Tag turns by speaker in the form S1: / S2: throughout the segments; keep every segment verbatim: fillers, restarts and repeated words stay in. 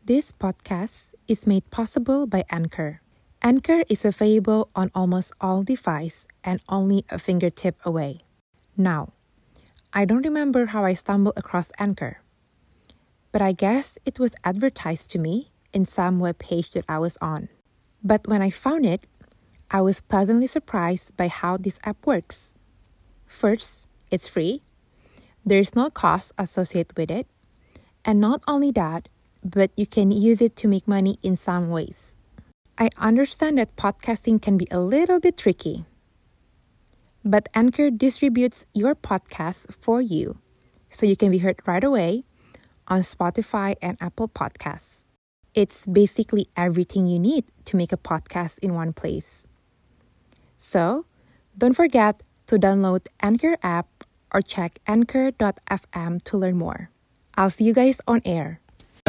S1: This podcast is made possible by Anchor. Anchor is available on almost all devices and only a fingertip away. Now, I don't remember how I stumbled across Anchor, but I guess it was advertised to me in some web page that I was on. But when I found it, I was pleasantly surprised by how this app works. First, it's free. There's no cost associated with it. And not only that, but you can use it to make money in some ways. I understand that podcasting can be a little bit tricky, but Anchor distributes your podcast for you so you can be heard right away on Spotify and Apple Podcasts. It's basically everything you need to make a podcast in one place. So, don't forget to download Anchor app or check anchor dot f m to learn more. I'll see you guys on air.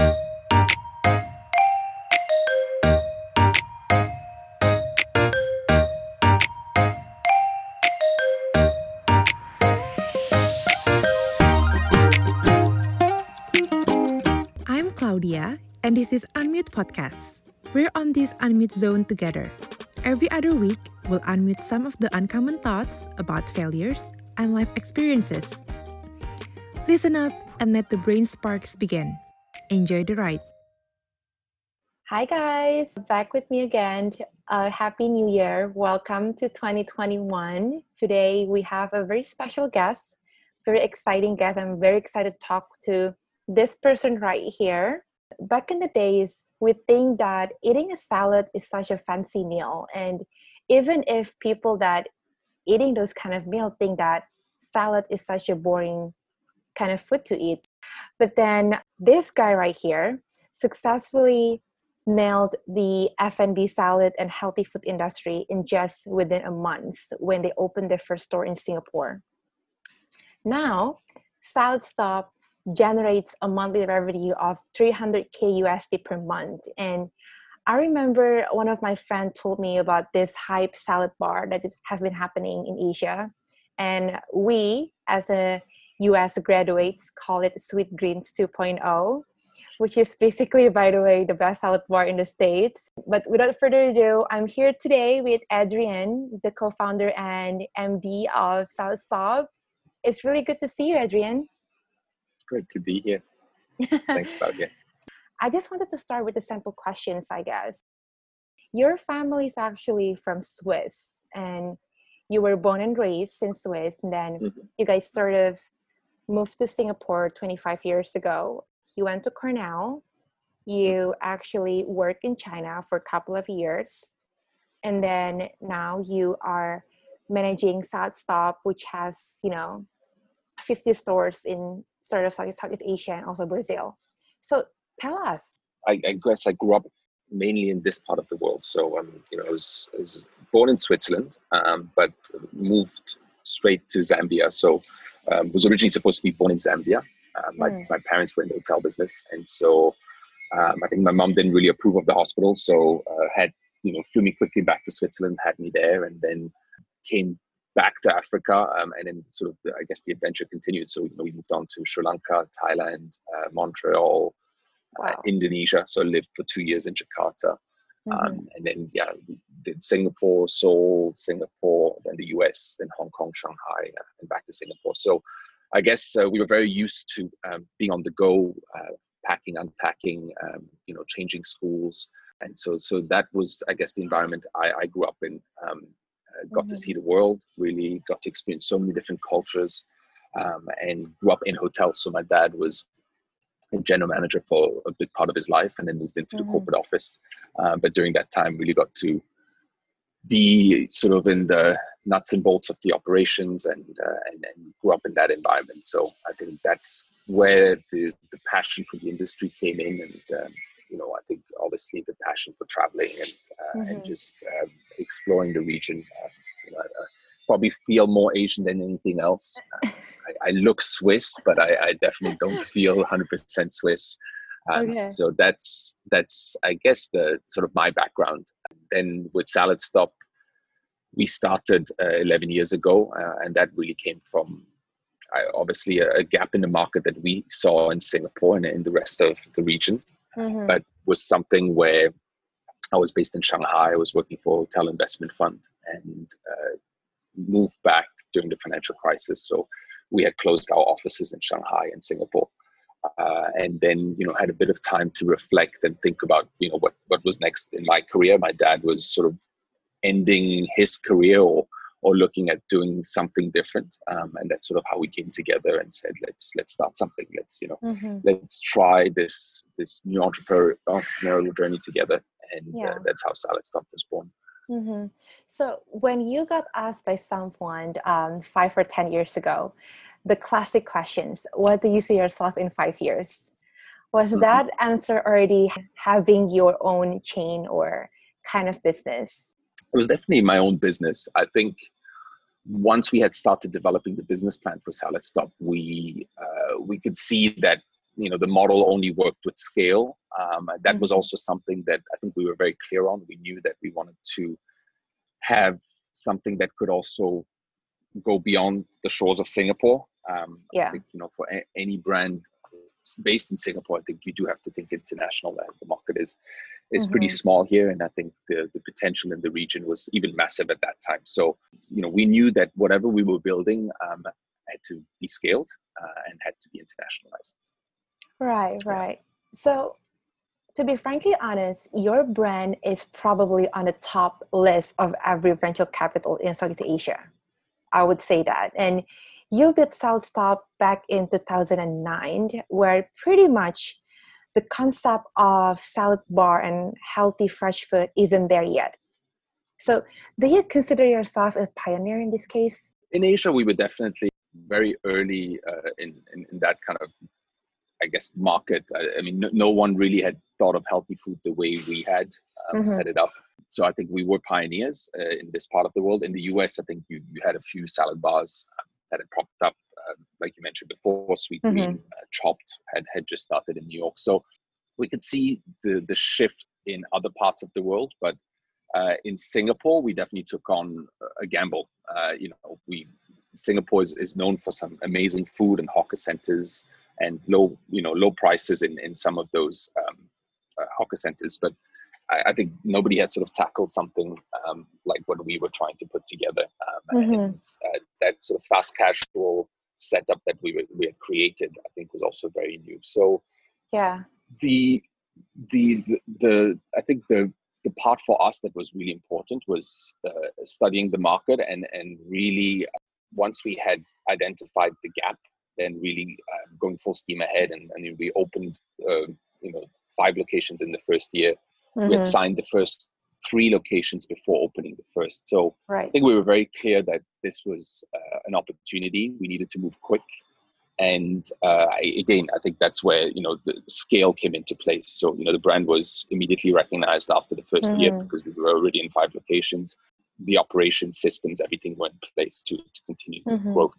S1: I'm Claudia, and this is Unmute Podcast. We're on this Unmute zone together. Every other week, we'll unmute some of the uncommon thoughts about failures and life experiences. Listen up and let the brain sparks begin. Enjoy the ride. Hi guys, back with me again. Uh, Happy New Year. Welcome to twenty twenty-one. Today we have a very special guest, very exciting guest. I'm very excited to talk to this person right here. Back in the days, we think that eating a salad is such a fancy meal. And even if people that eating those kind of meal think that salad is such a boring kind of food to eat. But then this guy right here successfully nailed the F and B salad and healthy food industry in just within a month when they opened their first store in Singapore. Now, Salad Stop generates a monthly revenue of three hundred K U S D per month. And I remember one of my friends told me about this hype salad bar that has been happening in Asia. And we, as a U S graduates, call it Sweet Greens two point oh, which is basically, by the way, the best salad bar in the States. But without further ado, I'm here today with Adrian, the co-founder and M D of Salad Stop. It's really good to see you, Adrian.
S2: Great to be here. Thanks, Claudia.
S1: I just wanted to start with the simple questions, I guess. Your family is actually from Swiss, and you were born and raised in Swiss, and then mm-hmm. you guys sort of moved to Singapore twenty-five years ago. You went to Cornell. You actually worked in China for a couple of years. And then now you are managing Salad Stop, which has, you know, fifty stores in sort of Southeast Asia and also Brazil. So tell us.
S2: I, I guess I grew up mainly in this part of the world. So, um, you know, I was, I was born in Switzerland, um, but moved straight to Zambia. So um, was originally supposed to be born in Zambia. Uh, my, mm. my parents were in the hotel business. And so um, I think my mom didn't really approve of the hospital. So uh, had, you know, flew me quickly back to Switzerland, had me there, and then came back to Africa, um, and then sort of, the, I guess, the adventure continued. So, you know, we moved on to Sri Lanka, Thailand, uh, Montreal, wow. uh, Indonesia. So I lived for two years in Jakarta. Mm-hmm. Um, and then, yeah, we did Singapore, Seoul, Singapore, then the U S, then Hong Kong, Shanghai, uh, and back to Singapore. So I guess uh, we were very used to um, being on the go, uh, packing, unpacking, um, you know, changing schools. And so so that was, I guess, the environment I, I grew up in. Um, Uh, got mm-hmm. to see the world, really got to experience so many different cultures, um, and grew up in hotels. So my dad was a general manager for a big part of his life, and then moved into mm-hmm. the corporate office. Uh, but during that time, really got to be sort of in the nuts and bolts of the operations, and uh, and, and grew up in that environment. So I think that's where the, the passion for the industry came in, and um, you know, I think obviously the passion for traveling and uh, mm-hmm. and just uh, exploring the region. Uh, you know, I probably feel more Asian than anything else. Uh, I, I look Swiss, but I, I definitely don't feel one hundred percent Swiss. Um, okay. So that's that's I guess the sort of my background. Then with Salad Stop, we started uh, eleven years ago, uh, and that really came from uh, obviously a, a gap in the market that we saw in Singapore and in the rest of the region.
S1: Mm-hmm.
S2: but was something where I was based in Shanghai. I was working for a hotel investment fund and uh, moved back during the financial crisis. So we had closed our offices in Shanghai and Singapore. Uh, and then, you know, had a bit of time to reflect and think about, you know, what, what was next in my career. My dad was sort of ending his career or or looking at doing something different. Um, and that's sort of how we came together and said, let's let's start something. Let's, you know,
S1: Mm-hmm.
S2: let's try this this new entrepreneur, entrepreneurial journey together. And
S1: Yeah.
S2: uh, that's how Salad Stop was born.
S1: Mm-hmm. So when you got asked by someone um, five or ten years ago, the classic questions, what do you see yourself in five years? Was
S2: Mm-hmm.
S1: that answer already having your own chain or kind of business?
S2: It was definitely my own business. I think once we had started developing the business plan for Salad Stop, we uh, we could see that, you know, the model only worked with scale. Um, that mm-hmm. was also something that I think we were very clear on. We knew that we wanted to have something that could also go beyond the shores of Singapore. Um,
S1: yeah.
S2: I think, you know, for a- any brand based in Singapore, I think you do have to think international. The market is is mm-hmm. pretty small here, and I think the the potential in the region was even massive at that time. So, you know, we knew that whatever we were building um, had to be scaled uh, and had to be internationalized.
S1: Right, right. Yeah. So, to be frankly honest, your brand is probably on the top list of every venture capital in Southeast Asia. I would say that. And you built Salad Stop back in two thousand nine, where pretty much the concept of salad bar and healthy fresh food isn't there yet. So do you consider yourself a pioneer in this case?
S2: In Asia, we were definitely very early uh, in, in, in that kind of, I guess, market. I, I mean, no, no one really had thought of healthy food the way we had um, mm-hmm. set it up. So I think we were pioneers uh, in this part of the world. In the U S, I think you, you had a few salad bars uh, that had popped up, uh, like you mentioned before. Sweet mm-hmm. Green, uh, Chopped had, had just started in New York. So we could see the, the shift in other parts of the world. But uh, in Singapore, we definitely took on a gamble. Uh, you know, we Singapore is, is known for some amazing food and hawker centers and low, you know, low prices in, in some of those um, uh, hawker centers. But I, I think nobody had sort of tackled something um, like what we were trying to put together. Um, mm-hmm. And uh, that sort of fast casual setup that we were, we had created, I think, was also very new. So
S1: yeah,
S2: the the the, the I think the the part for us that was really important was uh, studying the market and and really once we had identified the gap, then really uh, going full steam ahead. And, and we opened, uh, you know, five locations in the first year. Mm-hmm. We had signed the first three locations before opening the first. So
S1: right.
S2: I think we were very clear that this was uh, an opportunity. We needed to move quick. And uh, I, again, I think that's where, you know, the scale came into place. So, you know, the brand was immediately recognized after the first mm-hmm. year because we were already in five locations. The operation systems, everything went in place to, to continue mm-hmm. growth.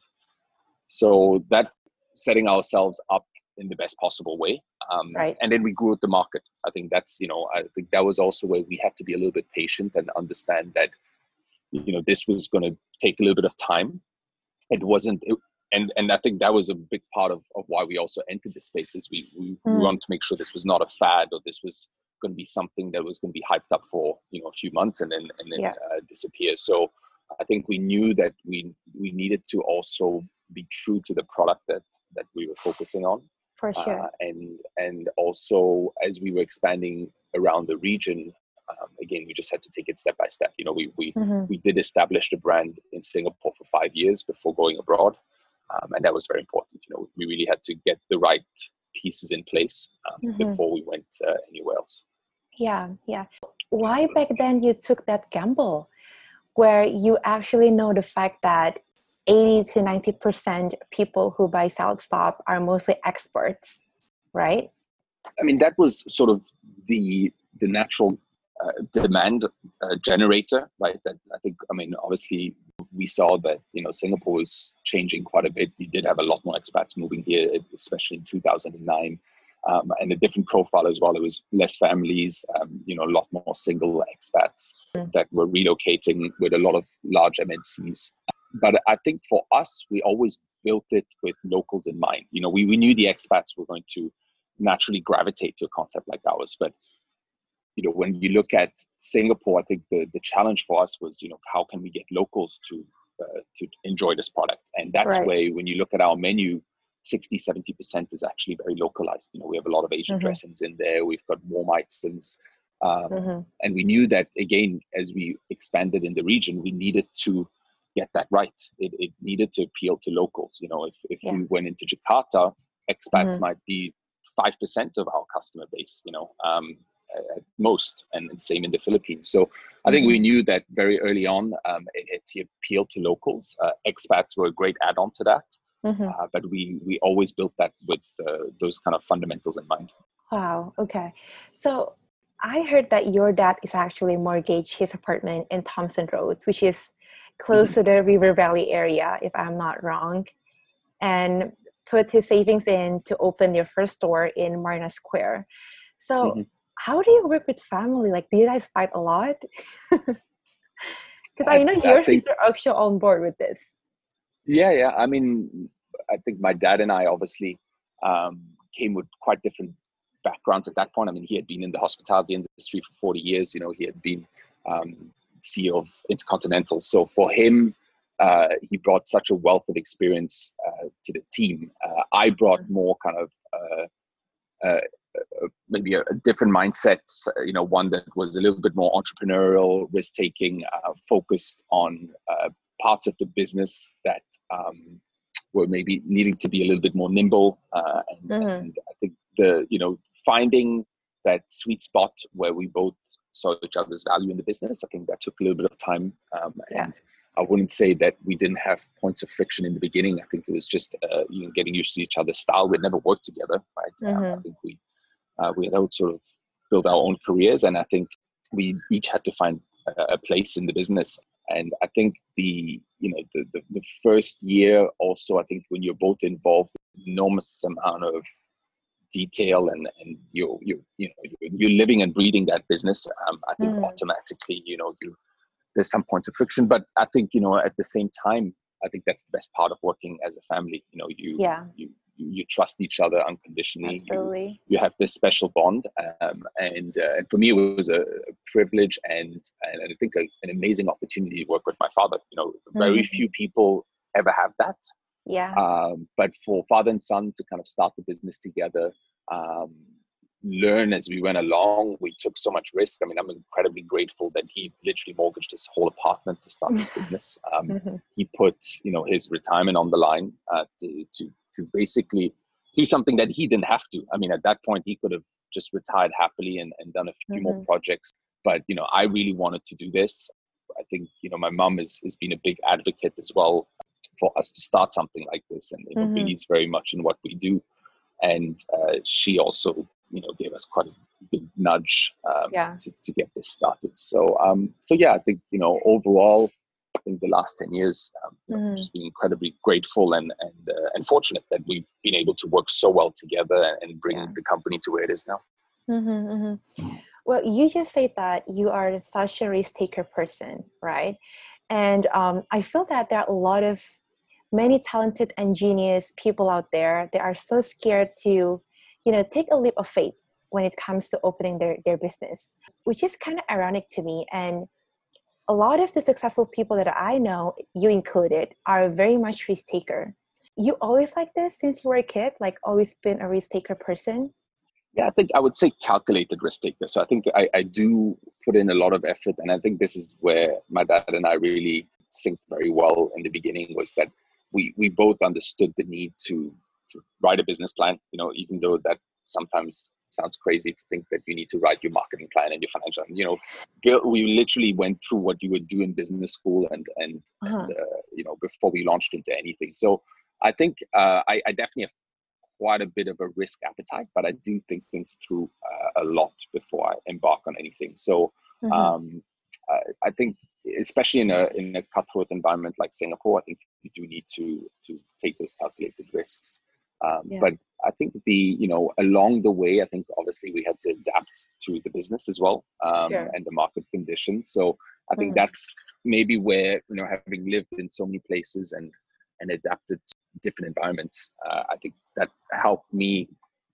S2: So that setting ourselves up in the best possible way. Um,
S1: right.
S2: And then we grew the market. I think that's, you know, I think that was also where we had to be a little bit patient and understand that, you know, this was going to take a little bit of time. It wasn't, it, and and I think that was a big part of, of why we also entered the space is we, we, mm. we wanted to make sure this was not a fad or this was going to be something that was going to be hyped up for, you know, a few months and then and then yeah. uh, disappear. So I think we knew that we we needed to also be true to the product that that we were focusing on.
S1: For sure.
S2: Uh, and and also as we were expanding around the region, um, again, we just had to take it step by step. You know, we we mm-hmm. we did establish the brand in Singapore for five years before going abroad, um, and that was very important. You know, we really had to get the right pieces in place um, mm-hmm. before we went uh, anywhere else.
S1: Yeah, yeah. Why back then you took that gamble, where you actually know the fact that eighty to ninety percent people who buy Salad Stop are mostly experts, right?
S2: I mean, that was sort of the the natural uh, demand uh, generator, right? That I think, I mean, obviously we saw that, you know, Singapore was changing quite a bit. We did have a lot more expats moving here, especially in two thousand nine. Um, and a different profile as well. It was less families, um, you know, a lot more single expats mm. that were relocating with a lot of large M N Cs. But I think for us, we always built it with locals in mind. You know, we, we knew the expats were going to naturally gravitate to a concept like ours. But you know, when you look at Singapore, I think the the challenge for us was, you know, how can we get locals to uh, to enjoy this product? And that's
S3: Right.
S2: where, when you look at our menu, sixty, seventy percent is actually very localized. You know, we have a lot of Asian
S3: Mm-hmm.
S2: dressings in there. We've got warm items. Um,
S3: Mm-hmm.
S2: and we knew that, again, as we expanded in the region, we needed to get that right. It, it needed to appeal to locals. You know, if, if
S3: Yeah.
S2: we went into Jakarta, expats
S3: Mm-hmm.
S2: might be five percent of our customer base, you know, um, at most, and same in the Philippines. So I think
S3: Mm-hmm.
S2: we knew that very early on. Um, it had to appeal to locals. Uh, expats were a great add-on to that.
S3: Mm-hmm.
S2: Uh, but we we always built that with uh, those kind of fundamentals in mind.
S3: Wow. Okay. So I heard that your dad is actually mortgaged his apartment in Thompson Road, which is close
S2: Mm-hmm.
S3: to the River Valley area, if I'm not wrong, and put his savings in to open their first store in Marina Square. So
S2: Mm-hmm.
S3: how do you work with family? Like, do you guys fight a lot? Because I,
S2: I,
S3: know
S2: I
S3: your
S2: think,
S3: sister actually on board with this.
S2: yeah, yeah. I mean, I think my dad and I obviously um, came with quite different backgrounds at that point. I mean, he had been in the hospitality industry for forty years. You know, he had been um, C E O of Intercontinental. So for him, uh, he brought such a wealth of experience uh, to the team. Uh, I brought more kind of uh, uh, uh, maybe a, a different mindset, uh, you know, one that was a little bit more entrepreneurial, risk-taking, uh, focused on uh, parts of the business that um, were maybe needing to be a little bit more nimble. Uh, and,
S3: Mm-hmm.
S2: and I think the, you know, finding that sweet spot where we both saw each other's value in the business, I think that took a little bit of time. Um,
S3: Yeah.
S2: And I wouldn't say that we didn't have points of friction in the beginning. I think it was just, uh, you know, getting used to each other's style. We'd never worked together, right?
S3: Mm-hmm.
S2: Um, I think we, uh, we had all sort of built our own careers, and I think we each had to find a, a place in the business. And I think the, you know, the, the, the first year also, I think when you're both involved, enormous amount of detail, and, and you're, you you know, you're, you're living and breathing that business. Um, I think
S3: Mm-hmm.
S2: automatically, you know, you, there's some points of friction, but I think, you know, at the same time, I think that's the best part of working as a family. You know, you,
S3: Yeah.
S2: you, you trust each other unconditionally.
S3: Absolutely.
S2: You, you have this special bond. Um, and, uh, and for me, it was a privilege and, and I think a, an amazing opportunity to work with my father. You know, very
S3: Mm-hmm.
S2: few people ever have that.
S3: Yeah.
S2: Um, but for father and son to kind of start the business together, um, learn as we went along, we took so much risk. I mean, I'm incredibly grateful that he literally mortgaged his whole apartment to start this business. Um,
S3: Mm-hmm.
S2: he put, you know, his retirement on the line uh, to, to, to basically do something that he didn't have to. I mean, at that point, he could have just retired happily and, and done a few
S3: Mm-hmm.
S2: more projects. But, you know, I really wanted to do this. I think, you know, my mom has, has been a big advocate as well for us to start something like this, and, you know,
S3: Mm-hmm.
S2: believes very much in what we do. And uh, she also, you know, gave us quite a big nudge um,
S3: Yeah.
S2: to, to get this started. So, um, so yeah, I think, you know, overall, I think the last ten years, um, you know,
S3: Mm-hmm.
S2: just being incredibly grateful and and uh, and fortunate that we've been able to work so well together and bring
S3: Yeah.
S2: the company to where it is now.
S3: Mm-hmm. Mm-hmm. Well, you just say that you are such a risk taker person, right? And um, I feel that there are a lot of many talented and genius people out there. They are so scared to, you know, take a leap of faith when it comes to opening their, their business, which is kind of ironic to me. And a lot of the successful people that I know, you included, are very much risk taker. You always like this since you were a kid, like always been a risk taker person?
S2: Yeah, I think I would say calculated risk taker. So I think I, I do put in a lot of effort, and I think this is where my dad and I really synced very well in the beginning, was that we we both understood the need to to write a business plan. You know, even though that sometimes sounds crazy to think that you need to write your marketing plan and your financial. You know, we literally went through what you would do in business school, and and,
S3: Uh-huh.
S2: and uh, you know, before we launched into anything. So I think uh, I, I definitely have quite a bit of a risk appetite, but I do think things through uh, a lot before I embark on anything. So
S3: Mm-hmm.
S2: um, I, I think, especially in a in a cutthroat environment like Singapore, I think you do need to to take those calculated risks. Um,
S3: Yes.
S2: But I think the you know along the way, I think obviously we had to adapt to the business as well, um,
S3: Sure.
S2: and the market conditions. So I think
S3: Mhm.
S2: that's maybe where, you know, having lived in so many places and and adapted to different environments, uh, I think that helped me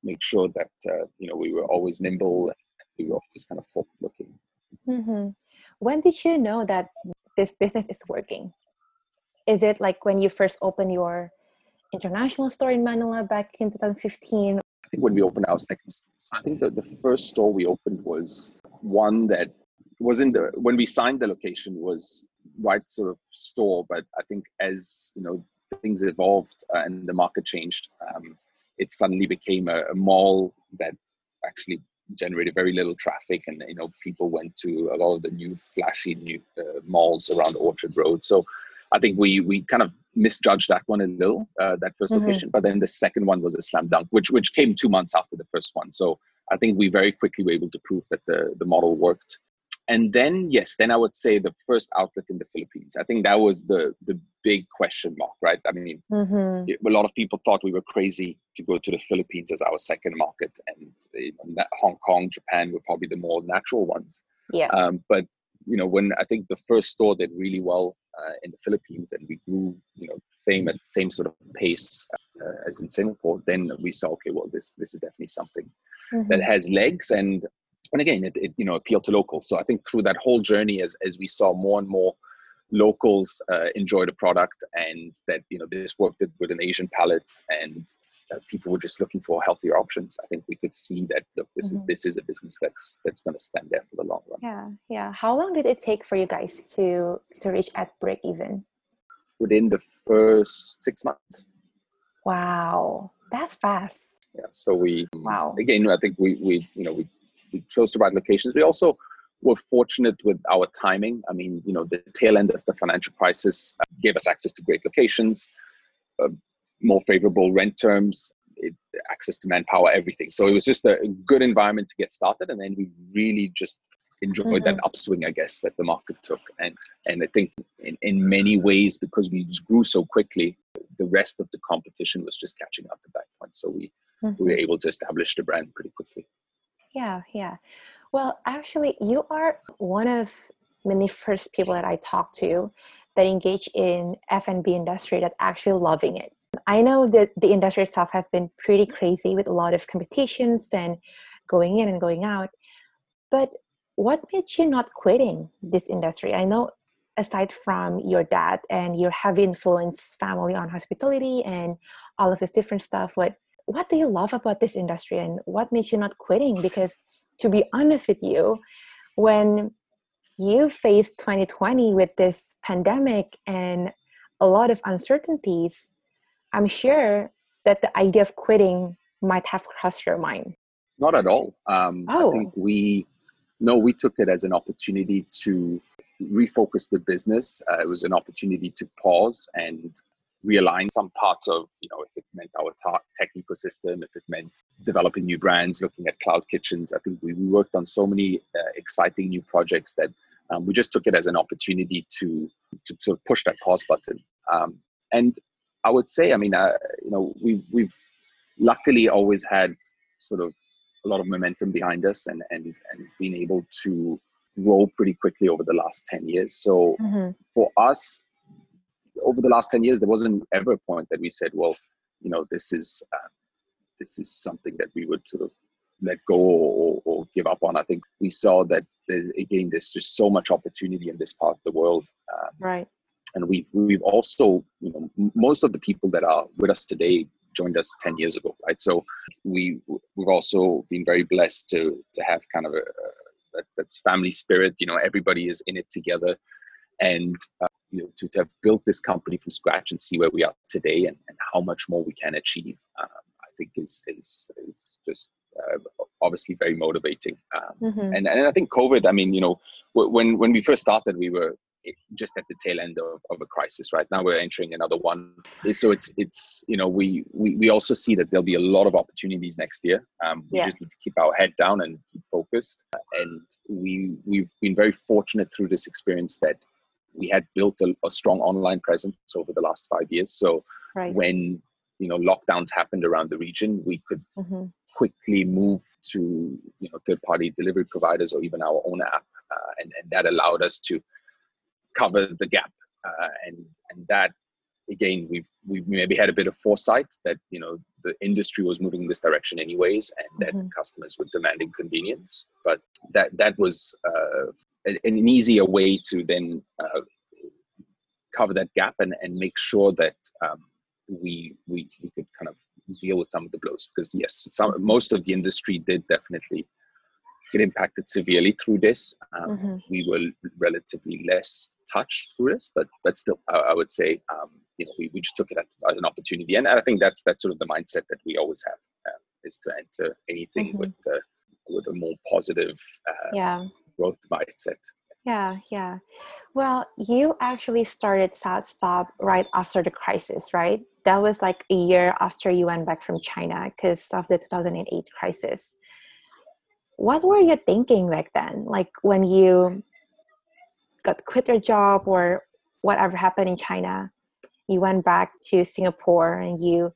S2: make sure that, uh, you know, we were always nimble and we were always kind of forward looking.
S3: Mm-hmm. When did you know that this business is working? Is it like when you first opened your international store in Manila back in twenty fifteen?
S2: I think when we opened our second store, so I think the, the first store we opened was one that was in the, when we signed the location was right sort of store, but I think as, you know, things evolved uh, and the market changed, um, it suddenly became a, a mall that actually generated very little traffic, and, you know, people went to a lot of the new flashy new uh, malls around Orchard Road. So I think we we kind of misjudged that one a little, uh, that first
S3: Mm-hmm.
S2: location. But then the second one was a slam dunk, which which came two months after the first one. So I think we very quickly were able to prove that the the model worked. And then, yes, then I would say the first outlet in the Philippines. I think that was the the big question mark, right? I mean,
S3: Mm-hmm.
S2: it, a lot of people thought we were crazy to go to the Philippines as our second market, and you know, Hong Kong, Japan were probably the more natural ones.
S3: Yeah.
S2: Um, but you know, when I think the first store did really well uh, in the Philippines, and we grew, you know, same at the same sort of pace uh, as in Singapore, then we saw, okay, well, this this is definitely something
S3: Mm-hmm.
S2: that has legs, and and again, it, it you know appealed to locals. So I think through that whole journey, as as we saw more and more locals uh, enjoy the product, and that, you know, this worked with an Asian palate, and uh, people were just looking for healthier options. I think we could see that, look, this
S3: Mm-hmm.
S2: is this is a business that's that's going to stand there for the long run.
S3: Yeah, yeah. How long did it take for you guys to to reach at break even?
S2: Within the first six months.
S3: Wow, that's fast.
S2: Yeah. So we
S3: Wow.
S2: again, I think we we you know we, we chose the right locations. We also were fortunate with our timing. I mean, you know, the tail end of the financial crisis gave us access to great locations, uh, more favorable rent terms, it, access to manpower, everything. So it was just a good environment to get started, and then we really just enjoyed
S3: Mm-hmm.
S2: that upswing, I guess, that the market took. And and I think in, in many ways, because we just grew so quickly, the rest of the competition was just catching up at that point. So we,
S3: Mm-hmm.
S2: we were able to establish the brand pretty quickly.
S3: Yeah, yeah. Well, actually, you are one of many first people that I talked to that engage in F and B industry that actually loving it. I know that the industry itself has been pretty crazy with a lot of competitions and going in and going out. But what made you not quitting this industry? I know aside from your dad and your heavy influence family on hospitality and all of this different stuff, what what do you love about this industry, and what made you not quitting? Because to be honest with you, when you faced twenty twenty with this pandemic and a lot of uncertainties, I'm sure that the idea of quitting might have crossed your mind.
S2: Not at all. Um, I
S3: Oh.
S2: think we, no, we took it as an opportunity to refocus the business. Uh, it was an opportunity to pause and realign some parts of, you know, if it meant our ta- tech ecosystem, if it meant developing new brands, looking at cloud kitchens. I think we, we worked on so many uh, exciting new projects that um, we just took it as an opportunity to, to sort of push that pause button. Um, and I would say, I mean, uh, you know, we, we've luckily always had sort of a lot of momentum behind us, and, and, and been able to grow pretty quickly over the last ten years. So
S3: Mm-hmm.
S2: for us, over the last ten years, there wasn't ever a point that we said, well, you know, this is uh, this is something that we would sort of let go or, or give up on. I think we saw that, there's, again, there's just so much opportunity in this part of the world. Um,
S3: Right.
S2: And we've, we've also, you know, m- most of the people that are with us today joined us ten years ago, right? So we, we've also been very blessed to to have kind of a, a that, that's family spirit. You know, everybody is in it together. And uh, you know, to, to have built this company from scratch and see where we are today, and, and how much more we can achieve, um, I think is is, is just uh, obviously very motivating. Um,
S3: Mm-hmm.
S2: and and I think COVID, I mean, you know, when when we first started, we were just at the tail end of, of a crisis. Right now, we're entering another one. So it's it's you know, we we we also see that there'll be a lot of opportunities next year. Um, we
S3: Yeah.
S2: just need to keep our head down and keep focused. And we we've been very fortunate through this experience that we had built a, a strong online presence over the last five years. So
S3: Right.
S2: when, you know, lockdowns happened around the region, we could
S3: Mm-hmm.
S2: quickly move to, you know, third-party delivery providers or even our own app, uh, and and that allowed us to cover the gap, uh, and and that again, we've we maybe had a bit of foresight that, you know, the industry was moving in this direction anyways, and that
S3: Mm-hmm.
S2: customers were demanding convenience. But that that was uh, an, an easier way to then uh, cover that gap and, and make sure that um, we, we we could kind of deal with some of the blows. Because yes, some, most of the industry did definitely get impacted severely through this. Um,
S3: Mm-hmm.
S2: we were relatively less touched through this, but but still, I, I would say, um, you know, we, we just took it as, as an opportunity, and I think that's that's sort of the mindset that we always have, uh, is to enter anything
S3: Mm-hmm.
S2: with uh, with a more positive uh,
S3: Yeah.
S2: growth mindset.
S3: Yeah, yeah. Well, you actually started SouthStop right after the crisis, right? That was like a year after you went back from China because of the two thousand eight crisis. What were you thinking back then? Like when you got quit your job or whatever happened in China, you went back to Singapore and you,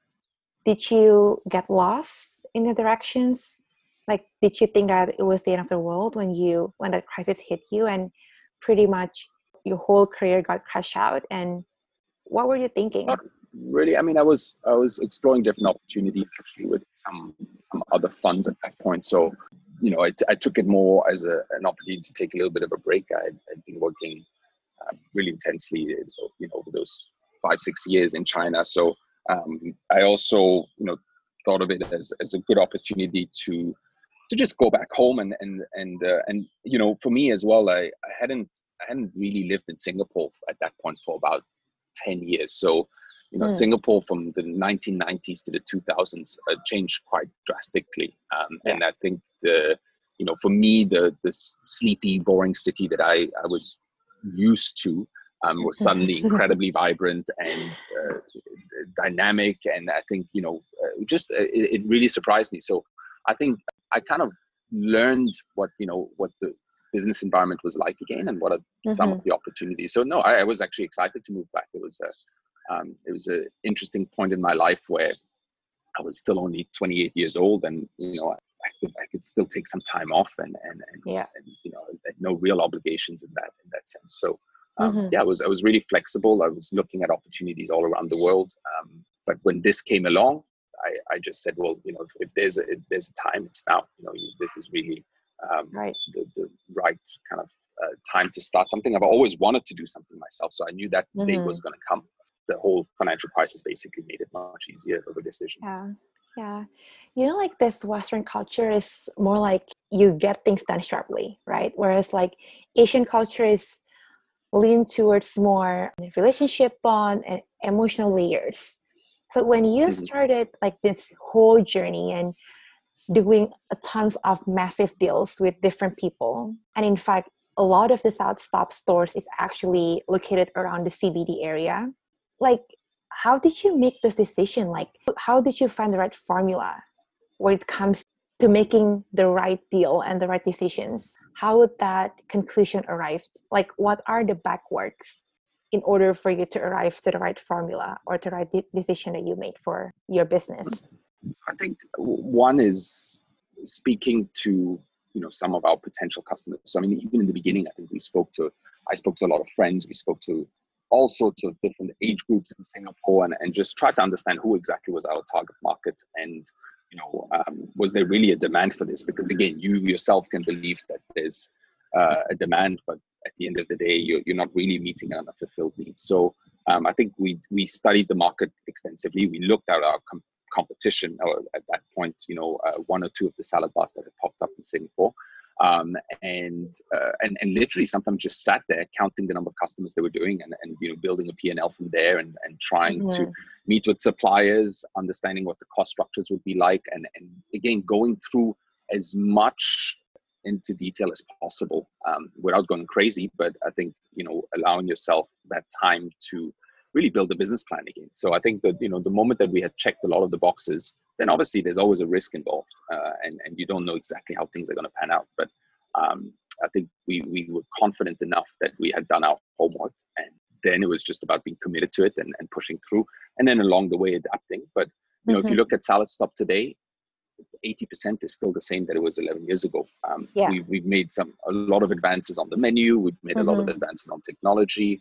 S3: did you get lost in the directions? Like, did you think that it was the end of the world when you, when that crisis hit you and pretty much your whole career got crashed out? And what were you thinking?
S2: Not really. I mean, I was I was exploring different opportunities actually with some some other funds at that point. So, you know, I, t- I took it more as a, an opportunity to take a little bit of a break. I had I'd been working uh, really intensely, you know, over those five six years in China. So um, I also, you know, thought of it as as a good opportunity to to just go back home and and and uh, and you know, for me as well, I, I hadn't I hadn't really lived in Singapore at that point for about ten years. So, you know,
S3: Hmm.
S2: Singapore from the nineteen nineties to the two thousands uh, changed quite drastically. Um,
S3: Yeah.
S2: and I think the, you know, for me, the this sleepy, boring city that I, I was used to um, was suddenly incredibly vibrant and uh, dynamic. And I think, you know, uh, just uh, it, it really surprised me. So I think I kind of learned what, you know, what the business environment was like again, and what are some
S3: Mhm.
S2: of the opportunities. So no, I, I was actually excited to move back. It was a, um, it was an interesting point in my life where I was still only twenty-eight years old, and you know, I could I could still take some time off, and and and,
S3: Yeah.
S2: and you know, no real obligations in that in that sense. So um,
S3: Mhm.
S2: yeah, I was I was really flexible. I was looking at opportunities all around the world. Um, but when this came along, I, I just said, well, you know, if, if there's a if there's a time, it's now. You know, you, this is really um,
S3: Right.
S2: the the right kind of uh, time to start something. I've always wanted to do something myself, so I knew that day was
S3: Mhm.
S2: going to come. The whole financial crisis basically made it much easier of a decision.
S3: Yeah. Yeah. You know, like this Western culture is more like you get things done sharply, right? Whereas like Asian culture is lean towards more relationship bond and emotional layers. So when you
S2: Mhm.
S3: started like this whole journey and doing a tons of massive deals with different people, and in fact, a lot of the SouthStop stores is actually located around the C B D area. Like, how did you make this decision? Like, how did you find the right formula when it comes to making the right deal and the right decisions? How would that conclusion arrive? Like, what are the backworks in order for you to arrive to the right formula or the right de- decision that you made for your business?
S2: I think one is speaking to, you know, some of our potential customers. So I mean, even in the beginning, I think we spoke to, I spoke to a lot of friends. We spoke to all sorts of different age groups in Singapore, and, and just try to understand who exactly was our target market, and you know, um, was there really a demand for this? Because again, you yourself can believe that there's uh, a demand, but at the end of the day, you're, you're not really meeting an unfulfilled need. So um, I think we we studied the market extensively. We looked at our com- competition, or at that point, you know, uh, one or two of the salad bars that had popped up in Singapore. Um, and, uh, and and literally sometimes just sat there counting the number of customers they were doing, and, and you know, building a P and L from there, and, and trying
S3: Mhm.
S2: to meet with suppliers, understanding what the cost structures would be like, and, and again, going through as much into detail as possible um, without going crazy. But I think, you know, allowing yourself that time to really build a business plan again. So I think that, you know, the moment that we had checked a lot of the boxes, then obviously there's always a risk involved, uh, and, and you don't know exactly how things are going to pan out. But um, I think we, we were confident enough that we had done our homework, and then it was just about being committed to it, and, and pushing through, and then along the way adapting. But, you know, if you
S3: Mhm.
S2: look at SaladStop today, eighty percent is still the same that it was eleven years ago. Um,
S3: Yeah.
S2: we, we've made some a lot of advances on the menu. We've made a lot of
S3: Mhm.
S2: advances on technology.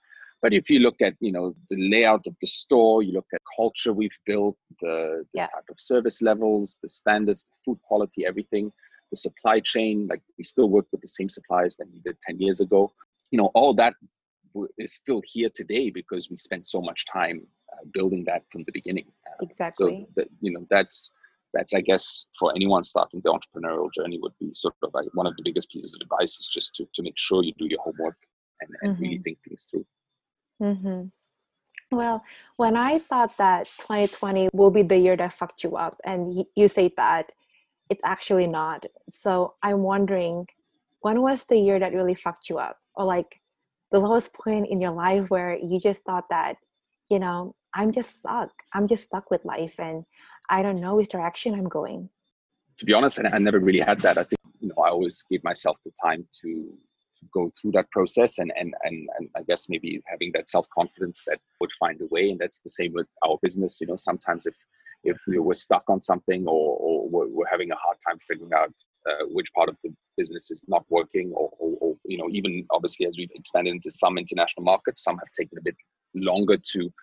S2: But if you look at, you know, the layout of the store, you look at culture we've built, the, the
S3: Yeah.
S2: type of service levels, the standards, the food quality, everything, the supply chain, like we still work with the same suppliers that we did ten years ago. You know, all that is still here today because we spent so much time uh, building that from the beginning. Uh,
S3: Exactly.
S2: So, that, you know, that's, that's, I guess, for anyone starting the entrepreneurial journey would be sort of like one of the biggest pieces of advice is just to, to make sure you do your homework and, and
S3: Mm-hmm.
S2: really think things through.
S3: Mm-hmm. Well, when I thought that twenty twenty will be the year that fucked you up, and y- you say that it's actually not. So I'm wondering, when was the year that really fucked you up? Or like the lowest point in your life where you just thought that, you know, I'm just stuck. I'm just stuck with life and I don't know which direction I'm going.
S2: To be honest, I, I never really had that. I think, you know, I always gave myself the time to go through that process and, and, and, and I guess maybe having that self-confidence that would find a way. And that's the same with our business. You know, sometimes if, if we were stuck on something or, or we're, we're having a hard time figuring out uh, which part of the business is not working or, or, or, you know, even obviously as we've expanded into some international markets, some have taken a bit longer to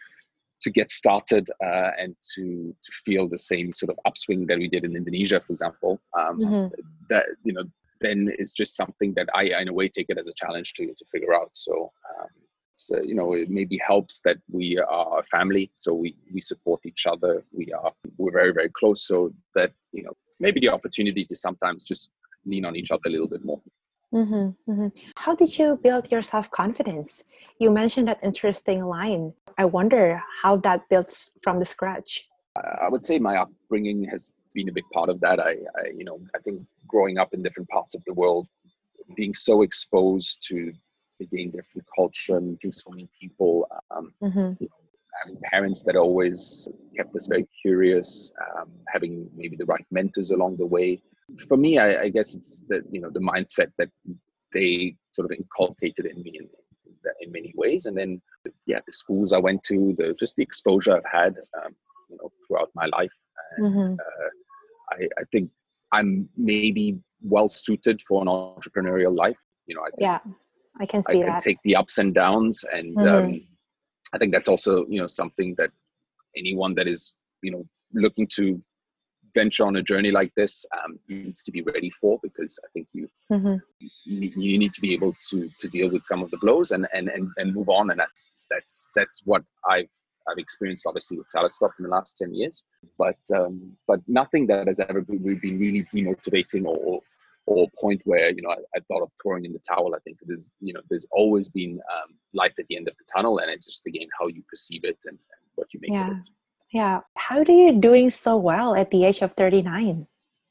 S2: to get started uh, and to to feel the same sort of upswing that we did in Indonesia, for example. Um,
S3: Mm-hmm.
S2: that, you know, then it's just something that I, in a way, take it as a challenge to to figure out. So, um, it's, uh, you know, it maybe helps that we are a family, so we we support each other. We are we're very very close, so that, you know, maybe the opportunity to sometimes just lean on each other a little bit more.
S3: Mm-hmm, mm-hmm. How did you build your self-confidence? You mentioned that interesting line. I wonder how that builds from the scratch.
S2: I would say my upbringing has been a big part of that. I, I, you know, I think growing up in different parts of the world, being so exposed to again different culture, meeting so many people, um,
S3: Mm-hmm.
S2: you know, having parents that always kept us very curious, um, having maybe the right mentors along the way. For me, I, I guess it's the, you know, the mindset that they sort of inculcated in me in, in many ways, and then yeah, the schools I went to, the just the exposure I've had, um, you know, throughout my life, and
S3: Mm-hmm.
S2: uh, I, I think I'm maybe well suited for an entrepreneurial life. You know, I can
S3: Yeah, I can
S2: I
S3: see
S2: can
S3: that.
S2: take the ups and downs, and
S3: Mm-hmm.
S2: um, I think that's also, you know, something that anyone that is, you know, looking to venture on a journey like this um, needs to be ready for, because I think you
S3: Mm-hmm.
S2: you you need to be able to to deal with some of the blows and and and, and move on. And that, that's that's what I've I've experienced obviously with Salad Stop in the last ten years. But um, but nothing that has ever been, been really demotivating or or a point where, you know, I, I thought of throwing in the towel. I think there's, you know, there's always been um, light at the end of the tunnel, and it's just again how you perceive it and, and what you make of
S3: Yeah.
S2: it.
S3: Yeah. How do you doing so well at the age of thirty-nine?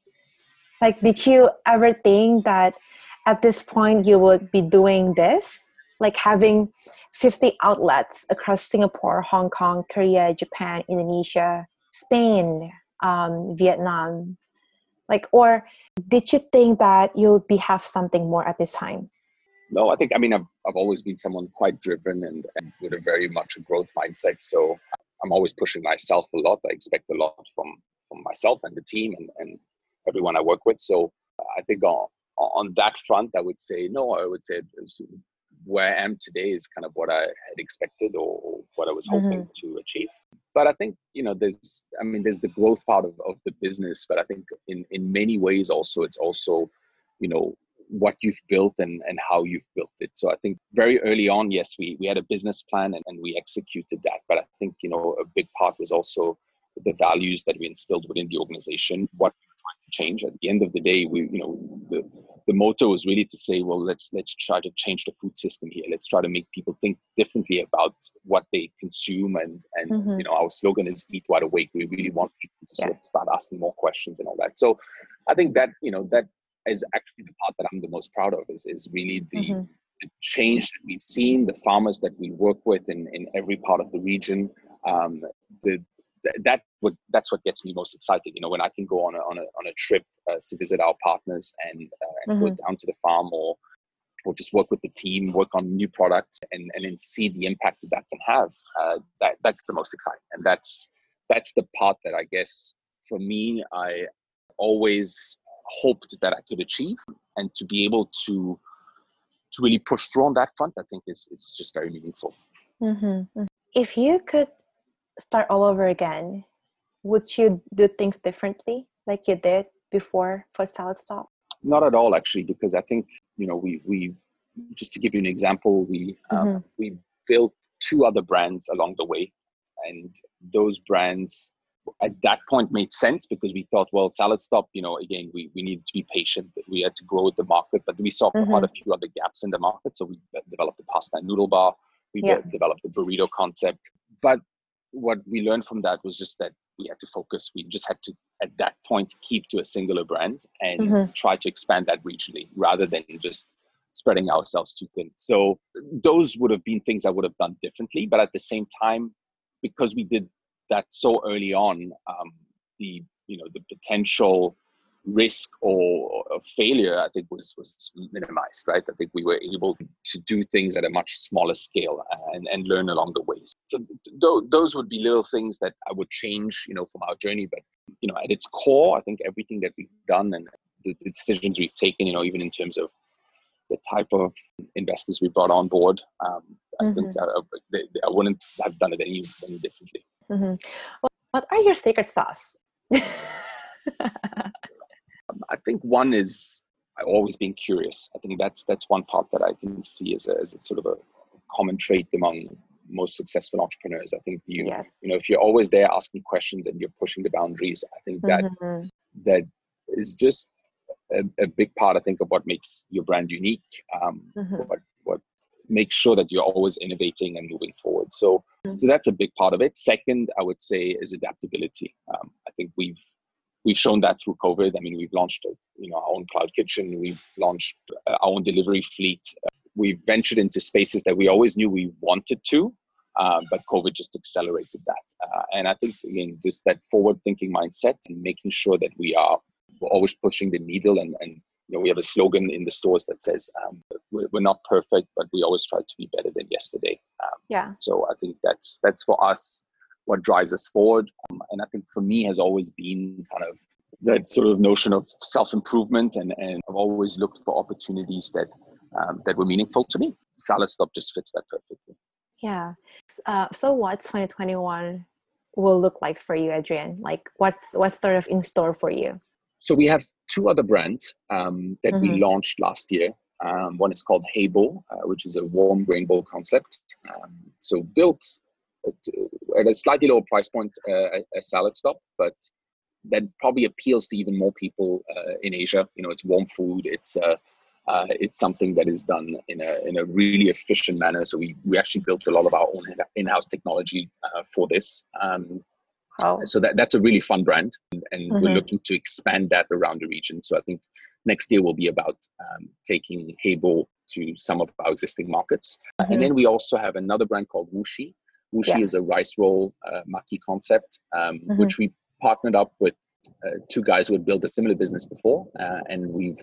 S3: Like, did you ever think that at this point you would be doing this? Like having fifty outlets across Singapore, Hong Kong, Korea, Japan, Indonesia, Spain, um, Vietnam. Like, or did you think that you'll be have something more at this time?
S2: No, I think, I mean, I've, I've always been someone quite driven and, and with a very much a growth mindset. So I'm always pushing myself a lot. I expect a lot from, from myself and the team and, and everyone I work with. So I think on, on that front, I would say, no, I would say it was, where I am today is kind of what I had expected or what I was hoping
S3: Mm-hmm.
S2: to achieve. But I think, you know, there's, I mean, there's the growth part of, of the business, but I think in, in many ways also, it's also, you know, what you've built and, and how you've built it. So I think very early on, yes, we, we had a business plan and, and we executed that. But I think, you know, a big part was also the values that we instilled within the organization, what we were trying to change. At the end of the day, we, you know, the, the motto is really to say, well, let's, let's try to change the food system here. Let's try to make people think differently about what they consume. And, and,
S3: Mm-hmm.
S2: you know, our slogan is eat wide awake. We really want people to sort
S3: Yeah.
S2: of start asking more questions and all that. So I think that, you know, that is actually the part that I'm the most proud of, is, is really the,
S3: Mm-hmm.
S2: the change that we've seen, the farmers that we work with in, in every part of the region. Um, the, that would, that's what gets me most excited. You know, when I can go on a, on a, on a trip uh, to visit our partners and, uh, and
S3: Mm-hmm.
S2: go down to the farm or, or just work with the team, work on new products and, and then see the impact that that can have. Uh, that, that's the most exciting. And that's, that's the part that I guess for me, I always hoped that I could achieve, and to be able to to really push through on that front, I think is is just very meaningful.
S3: Mm-hmm. If you could start all over again, would you do things differently like you did before for Salad Stop?
S2: Not at all, actually, because I think, you know, we, we just to give you an example, we um,
S3: Mm-hmm.
S2: we built two other brands along the way. And those brands at that point made sense because we thought, well, Salad Stop, you know, again, we, we needed to be patient. We had to grow with the market, but we saw
S3: Mm-hmm.
S2: quite a few other gaps in the market. So we developed the pasta and noodle bar. We
S3: Yeah.
S2: de- developed the burrito concept. But what we learned from that was just that we had to focus. We just had to, at that point, keep to a singular brand and
S3: Mm-hmm.
S2: try to expand that regionally rather than just spreading ourselves too thin. So those would have been things I would have done differently. But at the same time, because we did that so early on, um, the you know the potential risk or, or failure, I think, was was minimized. Right? I think we were able to do things at a much smaller scale and, and learn along the way. So th- those would be little things that I would change, you know, from our journey. But you know, at its core, I think everything that we've done and the, the decisions we've taken, you know, even in terms of the type of investors we brought on board, um, I
S3: Mm-hmm.
S2: think I, they, they, I wouldn't have done it any, any differently.
S3: Mm-hmm. Well, what are your secret sauce?
S2: I think one is always being curious. I think that's that's one part that I can see as a, as a sort of a common trait among most successful entrepreneurs. I think you
S3: Yes.
S2: you know if you're always there asking questions and you're pushing the boundaries, I think that
S3: Mm-hmm.
S2: that is just a, a big part, I think, of what makes your brand unique. Um,
S3: Mm-hmm.
S2: what what makes sure that you're always innovating and moving forward. So so that's a big part of it. Second, I would say, is adaptability. Um, I think we've we've shown that through COVID. I mean, we've launched a, you know our own cloud kitchen. We've launched our own delivery fleet. We've ventured into spaces that we always knew we wanted to, um, but COVID just accelerated that. Uh, and I think, again, just that forward-thinking mindset and making sure that we are we're always pushing the needle. And, and you know, we have a slogan in the stores that says, um, we're, we're not perfect, but we always try to be better than yesterday. Um,
S3: Yeah.
S2: So I think that's that's for us what drives us forward. Um, and I think for me has always been kind of that sort of notion of self-improvement. And, and I've always looked for opportunities that um, that were meaningful to me. Salad Stop just fits that perfectly.
S3: Yeah. Uh, so what's twenty twenty-one will look like for you, Adrian? Like what's what's sort of in store for you?
S2: So we have two other brands um, that
S3: Mm-hmm.
S2: we launched last year. Um, one is called Hey Bowl, uh, which is a warm grain bowl concept. Um, so built at, at a slightly lower price point, uh, a Salad Stop, but that probably appeals to even more people uh, in Asia. You know, it's warm food. It's uh, uh, it's something that is done in a in a really efficient manner. So we we actually built a lot of our own in-house technology uh, for this. Um,
S3: Oh.
S2: So that, that's a really fun brand, and, and
S3: Mm-hmm.
S2: we're looking to expand that around the region. So I think next year will be about um, taking Hey Bowl to some of our existing markets.
S3: Mm-hmm.
S2: And then we also have another brand called Wuxi. Wuxi
S3: Yeah.
S2: is a rice roll uh, maki concept, um,
S3: Mm-hmm.
S2: which we partnered up with uh, two guys who had built a similar business before. Uh, and we've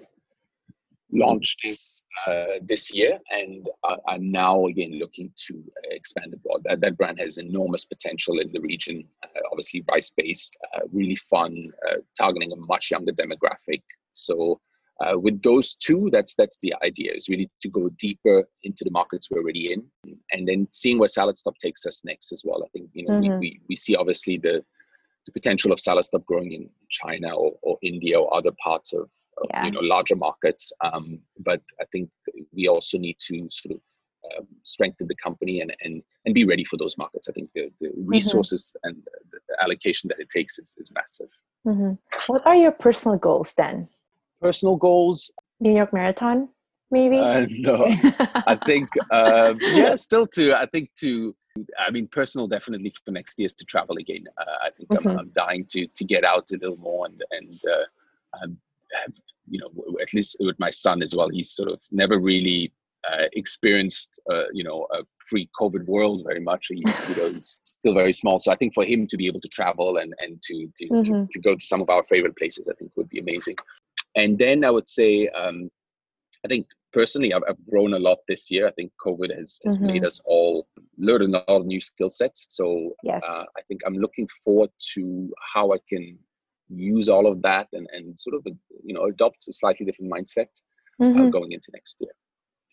S2: launched this uh, this year and uh, are now again looking to expand abroad. That, that brand has enormous potential in the region. Uh, obviously rice-based, uh, really fun, uh, targeting a much younger demographic. So uh, with those two, that's that's the idea, is really to go deeper into the markets we're already in, and then seeing where Salad Stop takes us next as well. I think you know
S3: Mm-hmm.
S2: we, we we see obviously the the potential of Salad Stop growing in China or, or India or other parts of, of
S3: Yeah.
S2: you know larger markets. Um, but I think we also need to sort of um, strengthen the company and, and and be ready for those markets. I think the, the resources mm-hmm. and the, the allocation that it takes is, is massive.
S3: Mm-hmm. What are your personal goals then?
S2: Personal goals?
S3: New York Marathon, maybe?
S2: Uh, no, I think, uh, yeah, still to, I think to, I mean, personal definitely for next year is to travel again. Uh, I think mm-hmm. I'm, I'm dying to to get out a little more and, and uh, um, you know, at least with my son as well, he's sort of never really uh, experienced, uh, you know, a pre-COVID world very much. He's, you know, he's still very small. So I think for him to be able to travel and, and to, to, mm-hmm. to, to go to some of our favorite places, I think would be amazing. And then I would say, um, I think personally, I've, I've grown a lot this year. I think COVID has, has mm-hmm. made us all learn a lot of new skill sets. So
S3: yes.
S2: uh, I think I'm looking forward to how I can use all of that and, and sort of, you know, adopt a slightly different mindset mm-hmm. uh, going into next year.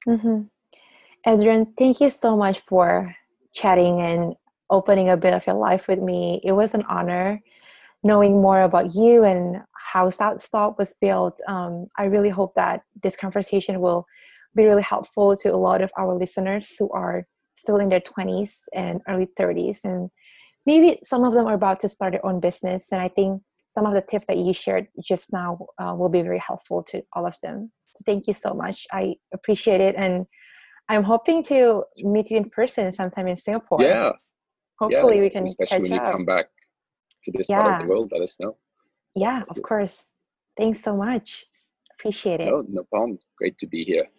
S3: Mm-hmm. Adrian, thank you so much for chatting and opening a bit of your life with me. It was an honor knowing more about you and how SouthStop was built. Um, I really hope that this conversation will be really helpful to a lot of our listeners who are still in their twenties and early thirties. And maybe some of them are about to start their own business. And I think some of the tips that you shared just now uh, will be very helpful to all of them. So thank you so much. I appreciate it. And I'm hoping to meet you in person sometime in Singapore.
S2: Yeah.
S3: Hopefully
S2: yeah,
S3: we can
S2: especially
S3: catch
S2: when you
S3: up.
S2: come back to this
S3: yeah.
S2: part of the world, let us know.
S3: Yeah, of course. Thanks so much. Appreciate it.
S2: No, no problem. Great to be here.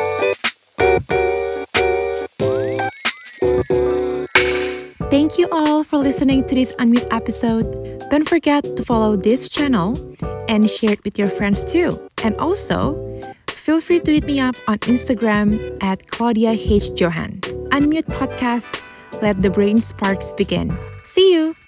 S1: Thank you all for listening to this Unmute episode. Don't forget to follow this channel and share it with your friends too. And also, feel free to hit me up on Instagram at Claudia H. Johan. Unmute Podcast. Let the brain sparks begin. See you!